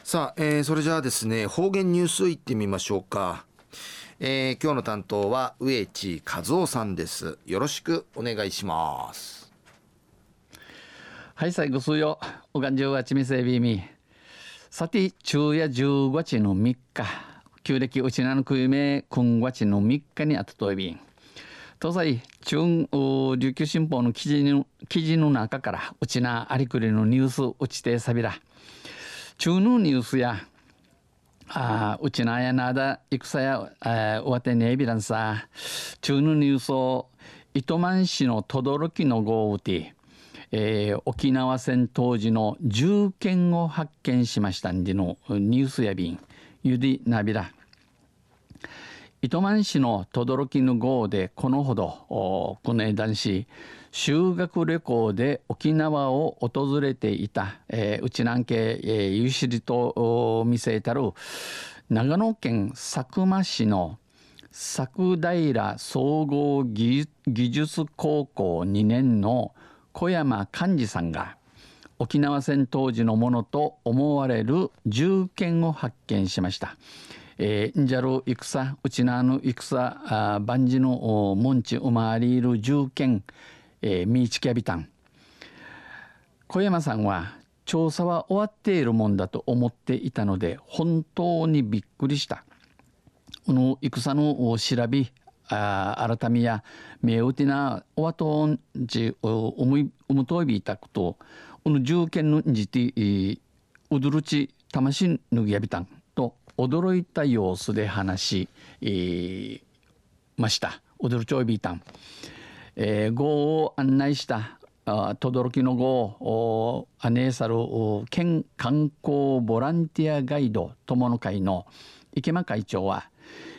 さあ、それじゃあですね、方言ニュースいってみましょうか。今日の担当は植地和夫さんです。よろしくお願いします。 はい、最後数よ。おがんじゅうはちみせびみ。さて、昼夜15日の3日。旧暦うちなのくゆめ、今月の3日にあたといびん。東西、琉球新報の記事の中から、うちなありくりのニュースうちてさびら。中のニュースや、うちなやなだ、戦や、おわてねえびらんさ。中のニュースを、糸満市の轟の豪雨て、沖縄戦当時の銃剣を発見しましたんでのニュースやびんゆりなびら糸満市の轟の号でこのほどこの男子修学旅行で沖縄を訪れていた、うちなんけ、ゆしりと見せたる長野県佐久間市の佐久平総合技術高校2年の小山寛治さんが沖縄戦当時のものと思われる銃剣を発見しました。んじゃる戦うちなの戦万事の門地うまわりいる銃剣みいちきゃびたん。小山さんは調査は終わっているもんだと思っていたので本当にびっくりした。この戦の調べ改めや目打てなおわとんじおむといびいたことこの銃剣のじてうどるち魂ぬぎやびたんと驚いた様子で話し、ました。驚ちょいびいたん、号を案内した轟の号をアネーサル県観光ボランティアガイド友の会の池間会長は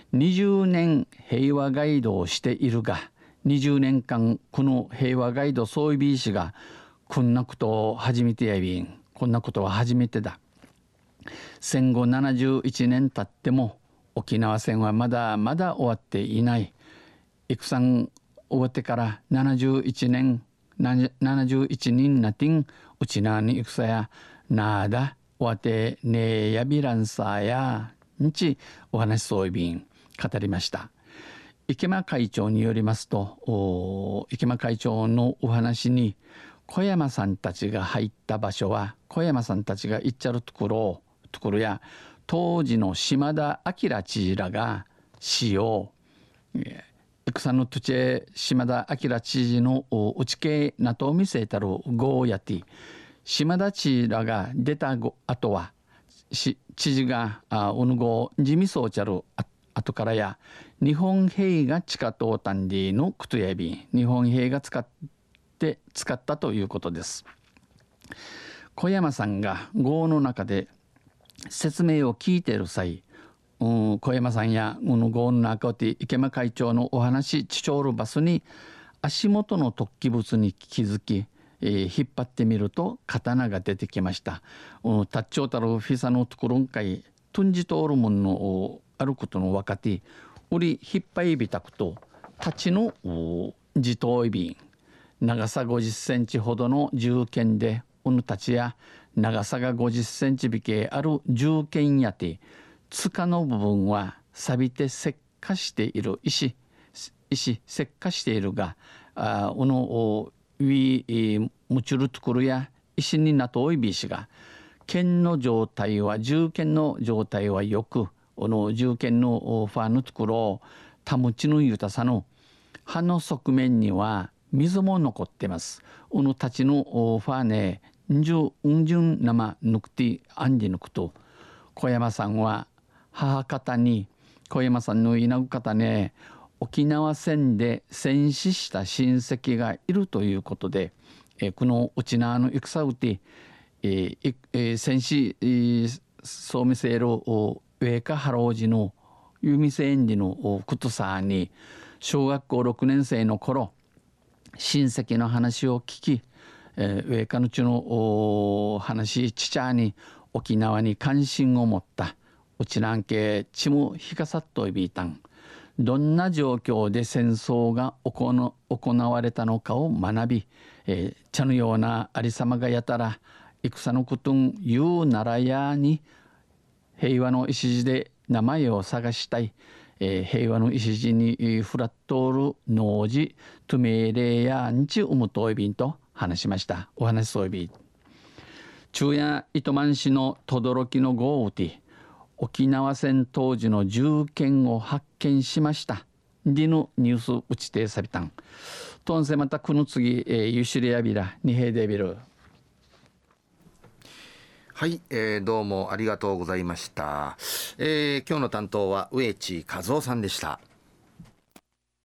20年平和ガイドをしているが20年間この平和ガイドそういびいしがこんなことを初めてやびんこんなことは初めてだ。戦後71年経っても沖縄戦はまだまだ終わっていない。戦終わってから71人なてんうちなに戦やなあだ終わってねえやびらんさやんちお話そういびん語りました。池間会長によりますと池間会長のお話に小山さんたちが入った場所は小山さんたちが行っちゃるところや当時の島田明知事らが使用戦の土地島田明知事の内系なと見せたるゴーヤティ島田知事らが出た後は知事がおぬご地味そうちゃる後からや日本兵が地下通ったんでのくとやび日本兵が使ったということです。小山さんが号の中で説明を聞いている際、小山さんや号の中で池間会長のお話チチョールバスに足元の突起物に気づき、引っ張ってみると刀が出てきました。タッチョータルフィサのところんかいトンジトールモンのあることの若手売り引っ張りびたくと立ちの自頭いびん長さ50センチほどの銃剣でおぬたちや長さが50センチびけある銃剣やて塚の部分は錆びて石化している石石化しているがおのウィムチュルトクルや石になとおいびしが剣の状態は銃剣の状態はよくおの銃剣のファーのところを保ちのゆたさの刃の側面には水も残ってます。おのたちのファーネんじゅん生ぬくてあんじぬくと小山さんは母方に小山さんのいなぐ方ね沖縄戦で戦死した親戚がいるということで、このうちなの戦うて、戦死、そう見せる上下ハロージのユミセンジのことさに小学校6年生の頃親戚の話を聞き、上下のちの話ちちゃに沖縄に関心を持ったうちなんけちむひかさっといびいたんどんな状況で戦争が行われたのかを学び、茶のようなありさまがやたら戦のことん言うならやに平和の礎で名前を探したい、平和の礎にフラットール農事トゥメレやんちうむといびんと話しました。お話そういびん昼夜糸満市の轟の豪雨で沖縄戦当時の銃剣を発見しました。でのニュース打ちてさびたん。とんせまたこの次、ゆしりやびらにへでびる。 はい、どうもありがとうございました。今日の担当は植地和夫さんでした。